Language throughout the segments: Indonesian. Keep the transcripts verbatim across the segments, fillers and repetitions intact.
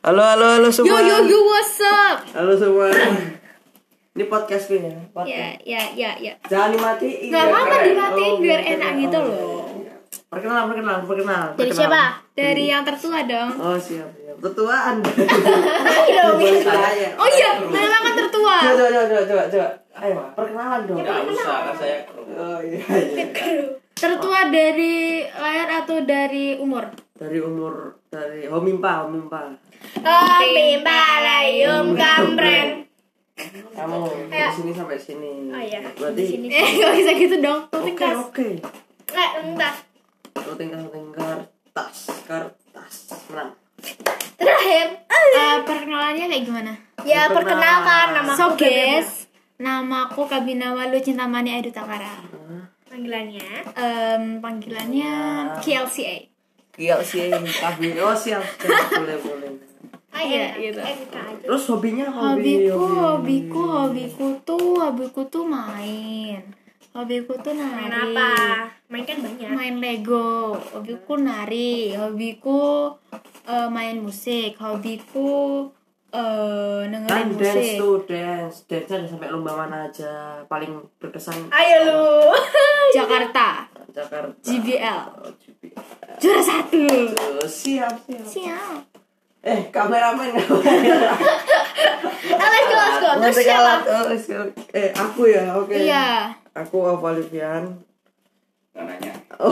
Halo halo halo semua. Yo yo yo what's up? Halo semua. Ini podcast gue ya. Ya ya ya ya. Jangan dimatiin. Gak apa-apa dimatiin oh, biar biar enak keren. gitu Oh, loh. Perkenalan perkenalan perkenalan. Dari perkenalan. siapa? Dari yang tertua dong. Oh siap siap. Tertua Anda. Ayo dong. Saya. Oh iya, memang kan tertua. Coba coba coba coba coba. Ayo perkenalan dong. Enggak usah kan saya kru. Oh iya. iya. Tertua dari layar atau dari umur? Dari umur dari homimpa homimpa. Homimpa layum gambreng. Kamu dari Ayo. sini sampai sini. Oh iya. Berarti Eh gak bisa gitu dong. oke Tingkas. oke. Eh entar. Tingkas tingkas kertas kertas menang. Terakhir. Eh perkenalannya kayak gimana? Ya perkenalkan nama So, aku guys. Namaku Kabinawalu Cintamani Aidu Takara. Panggilannya? Um, panggilannya K L C A. Iya sih, kabin. Oh siap, siap. boleh boleh. Ah iya, gitu. Terus hobinya hobi, Hobiku, hobi. hobiku, hobiku tuh, hobiku tuh main. Hobiku tuh nari. Main apa? Main kan banyak. Main Lego. Hobiku nari. Hobiku eh, main musik. Hobiku eh dengerin Kan dance musik. tuh dance, dance ada sampai lomba mana aja paling berkesan. Ayo lu. Jakarta. Jakarta. J B L. Oh, J B L. Juara satu. Oh, siap siap. Siap. Eh kameramen. Let's go, let's go. Terus Ngerti siapa? kalah. Oh, siap. Eh aku ya, oke. Iya. Aku Avalivian. Nggak nanya.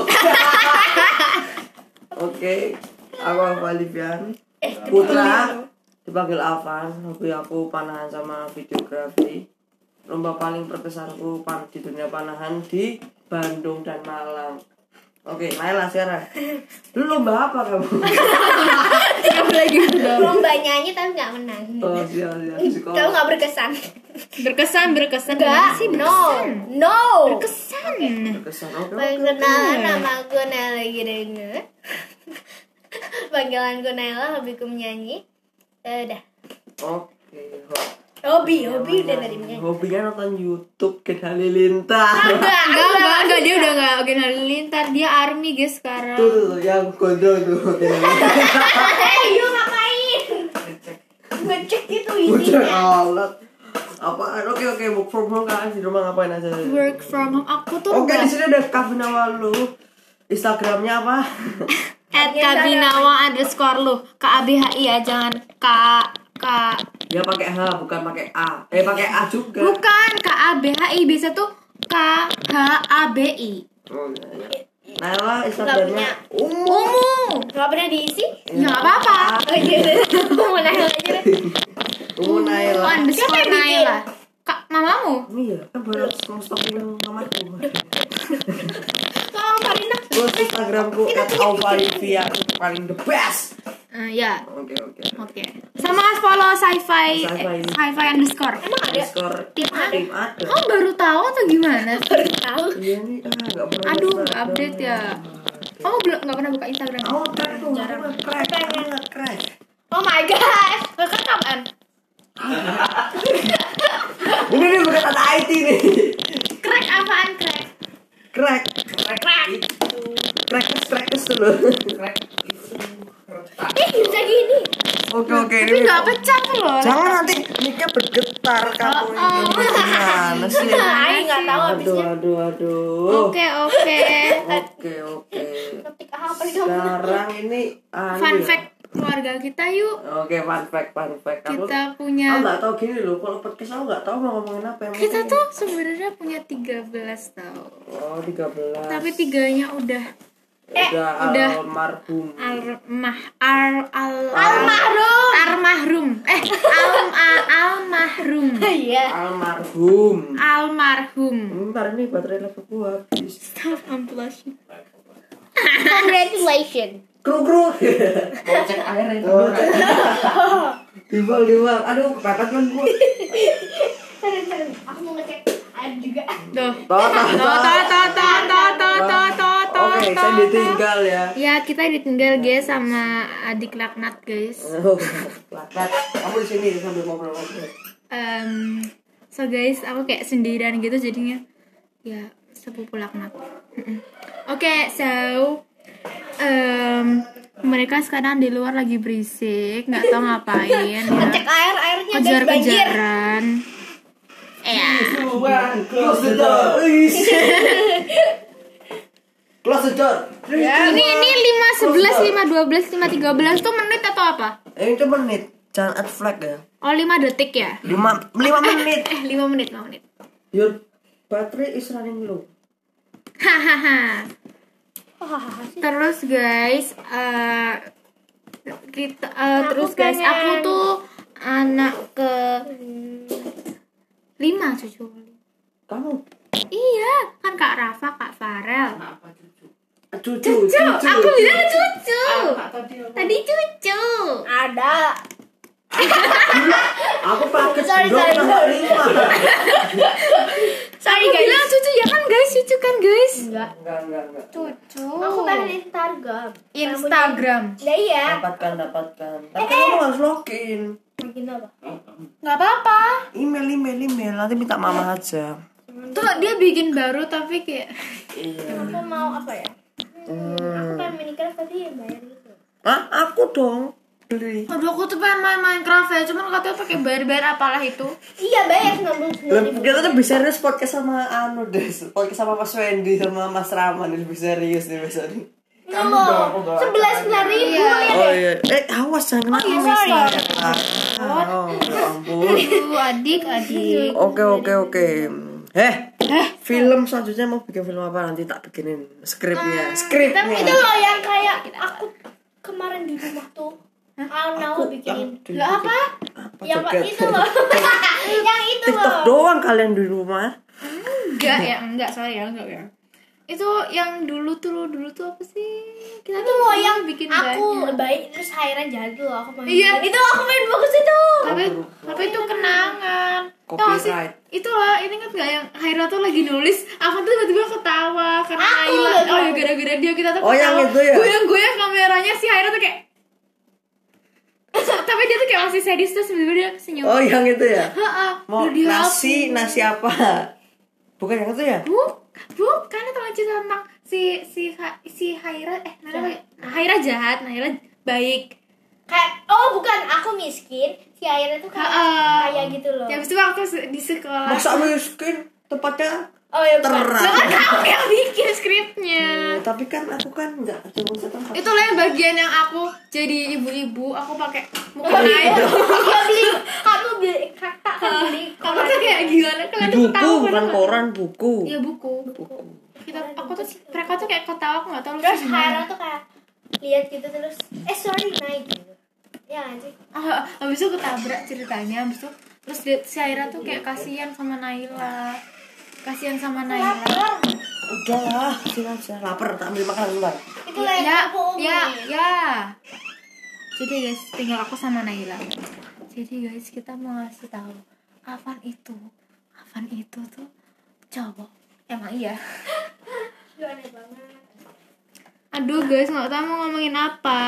Oke, aku Avalivian. Eh, Putra dipanggil Avan. Hobi aku panahan sama videografi. Lomba paling berkesanku pan di dunia panahan di Bandung dan Malang. Oke, Naila sekarang. Lu lomba apa kamu? Kamu lagi udah. Lomba nyanyi tapi nggak menang. Oh, siap siap. Kamu Psikolog. nggak berkesan. Berkesan, berkesan. Enggak. Sih, No. berkesan. No. Berkesan. Berkesan. Oke. oke. Perkenalan nama aku Naila Girenga. Panggilanku Naila, hobiku menyanyi. Eh, Udah. Oke. ho- Hobi, hobi udah tadi menyanyi. Hobinya nonton YouTube Ken Halilintar. Enggak, Enggak, enggak, enggak, dia udah enggak Oke Halilintar, dia army guys sekarang. Tuh, tuh, tuh, yang gondrong tuh. Ken Halilintar. Eh, yuk ngapain? Ngecek gitu Udah isinya. alat. Apaan? Oke oke, work from home kan di rumah ngapain aja? Work from home aku tuh Oke, di enggak sini ada Kabinawalu. Instagramnya apa? at kabinawa underscore lu K A B H I ya, jangan K K Dia pakai H bukan pakai A. Eh pakai A juga. bukan K A B H I, bisa tuh K H A B I. Oh, iya, iya. Naila Instagramnya umum. Ungu. Nggak pernah diisi? Ya enggak apa-apa. Oh iya, mau Naila aja deh. Umum Naila. Underscore Siapa yang bikin? Naila. Kak, mamamu? Iya, kan baru mau stok yang mamaku. Tolong Karina. Terus Instagramku at @auvalivia paling the best. Eh, ya. Oke oke. Oke. Sama follow sci-fi Sci-fi. eh, sci-fi underscore. Emang ada? Skor Tim A. tim ada. Kamu baru tahu atau gimana? Baru tahu. Iya nih, ah enggak pernah. Aduh, buka. nggak update ya. Oke. Kamu belum nggak pernah buka Instagram? Oh, crack tuh. Jarang. Crack, crack, crack. Oh my god. Kakak kapan? Ini nih bukan kata I T nih. Crack apaan crack? Crack. Crack. Crack, crack dulu. Crack itu retak. Eh, bisa gini. Oke oke Tapi ini. nggak pecah loh. Jangan nanti mic-nya bergetar kamu ini. Gimana sih? Ay, nggak tahu Aduh habisnya. aduh aduh. Oke oke. Oke oke. Ketik apa nih kamu? Sekarang ini anu Fun ya. fact keluarga kita yuk. Oke, fun fact, fun fact. Aku, Kita aku punya. nggak tahu gini loh. Kalau podcast aku nggak tahu mau ngomongin apa yang Kita penting. tuh sebenarnya punya tiga belas tau. Oh, tiga belas. Tapi tiganya udah udah, udah. almarhum. almah al al Almarhum. almarhum eh al a- almarhum Iya. Almarhum. almarhum. Bentar ini baterai laptopku habis. Stop, I'm blushing. Congratulations. Kru kru. Mau cek air itu. Oh, Timbal timbal. Aduh, kepepet kan gua. Aku mau ngecek air juga. Tuh. Toh, toh, Toh, toh, toh, toh, toh, toh, toh, toh, toh, Oke, toh, saya toh. ditinggal ya. Ya, kita ditinggal guys sama adik laknat guys. Oh, lakat. Kamu di sini sambil ngobrol-ngobrol. Um, so guys, aku kayak sendirian gitu jadinya. Ya, sepupu laknat. Mm-mm. Oke, so em, mereka sekarang di luar lagi berisik, nggak tahu ngapain ya. Cek air, airnya guys banjir. Kejar-kejaran. Eh, ya. Close the door. Close the door. Ini ini lima sebelas, lima dua belas, lima tiga belas tuh menit atau apa? Eh, itu menit. Jangan add flag ya. Oh, lima detik ya? lima lima menit. Eh, lima menit, lima menit. Your battery is running low. Hahaha. Terus guys, eh kita eh, terus guys, pengen- aku tuh anak ke lima cucu. Kamu Iya, kan Kak Rafa, Kak Farel. Apa cucu? cucu, Cucu, aku bilang cucu. Apa tadi? Tadi cucu. Ada. Aku pakai Sorry, dong sorry, nomor sorry. lima. Aku bilang cucu ya kan guys, cucu kan guys. Enggak. Enggak, enggak, enggak. Cucu. Aku pengen Instagram. Instagram. Ya iya. Dapatkan, dapatkan. Tapi kamu harus login. Bikin apa? Nggak apa-apa. Email, email, email. Nanti minta mama aja. Tuh dia bikin baru tapi kayak Iya. Aku mau apa ya? Hmm. Aku pengen Minecraft tapi bayar gitu. Hah? Aku dong beli. aduh aku tuh pengen main Minecraft ya, cuman katanya pakai bayar-bayar apalah itu. Iya bayar sembilan puluh sembilan Lebih, kita tuh bisa serius podcast sama anu deh. Podcast sama Mas Wendy sama Mas Rahman lebih serius nih besok nih. Kamu dong, aku doakan Sebelas sembilan ribu Iya. lihat Oh ya. iya. Eh awas jangan kena iya, amis sorry. lah. Oh, ya ampun. Aduh, adik-adik. Oke oke oke. Eh, film selanjutnya mau bikin film apa nanti tak bikinin skripnya. Itu Skripnya. loh yang kayak aku kemarin di rumah tuh. Aku bikinin. Di- Lah apa? apa Yang joget? itu loh. Yang itu TikTok loh. doang kalian di rumah. Enggak ya, enggak sorry ya, enggak ya. Itu yang dulu tuh, dulu tuh apa sih? Kita Itu tuh loh dulu yang bikin aku banyak. baik terus akhirnya jadi loh aku main. Iya. Itu aku main bagus itu. Tapi tapi itu kenangan. Tau gak sih? Copyright. Itulah, ini kan gak yang Haira tuh lagi nulis, aku tuh tiba-tiba ketawa karena Aku Naila. lagi. Oh ya gara-gara dia kita tuh Oh, yang ketawa. itu ya? Goyang-goyang kameranya si Haira tuh kayak tapi dia tuh kayak masih sadis terus tiba-tiba dia senyum. Oh yang itu ya. Heeh. Mau Udah dihapus. nasi nasi apa? Bukan yang itu ya? Bu, bukan itu lagi cerita tentang si si Ha- si Haira eh Naila Haira jahat, Naila baik. Kayak oh bukan aku miskin, si airnya tuh kayak Ha-ha. kaya gitu loh. Ya habis itu waktu se- di sekolah. Masa miskin tempatnya Oh ya bukan. terang. Lah kan aku yang bikin skripnya. Eh, tapi kan aku kan nggak cuma setempat. Itulah yang bagian yang aku jadi ibu-ibu, aku pakai muka Oh, naik. Dia beli, kamu beli, kakak kan beli. Kamu tuh kayak gimana? Kalian tuh Buku tahu bukan koran, buku. Iya buku. Kita, aku tuh mereka tuh kayak ketawa, aku nggak tahu lucu Terus gimana. Haira tuh kayak lihat gitu terus, eh sorry naik gitu. Ya anjing. Ah, habis itu ketabrak ceritanya, habis itu terus dia, si Haira tuh kayak kasihan sama Naila, kasihan sama Naila. Lapar. Udahlah, sini aja. Lapar, tak ambil makanan bentar. Itu lah yang Ya, aku ya, omongin. ya. Jadi guys, tinggal aku sama Naila. Jadi guys, kita mau ngasih tahu Afan itu, Afan itu tuh cowok. Emang iya. Itu aneh banget. Aduh guys, nggak tahu mau ngomongin apa.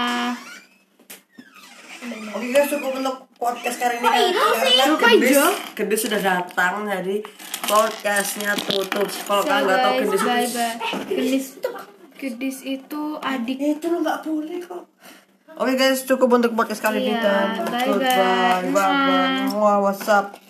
Oke guys, cukup untuk podcast kali ini. Kok itu sih? Karena Suka Gendis, Jo? Gendis sudah datang, jadi podcastnya tutup. Kalau So kalian nggak tahu guys, Gendis bye itu, bye. Gendis, Gendis itu adik. itu lo nggak boleh kok. Oke guys, cukup untuk podcast kali ini Iya, dan bye-bye. goodbye, bye bye. Mwah. Wah, what's up?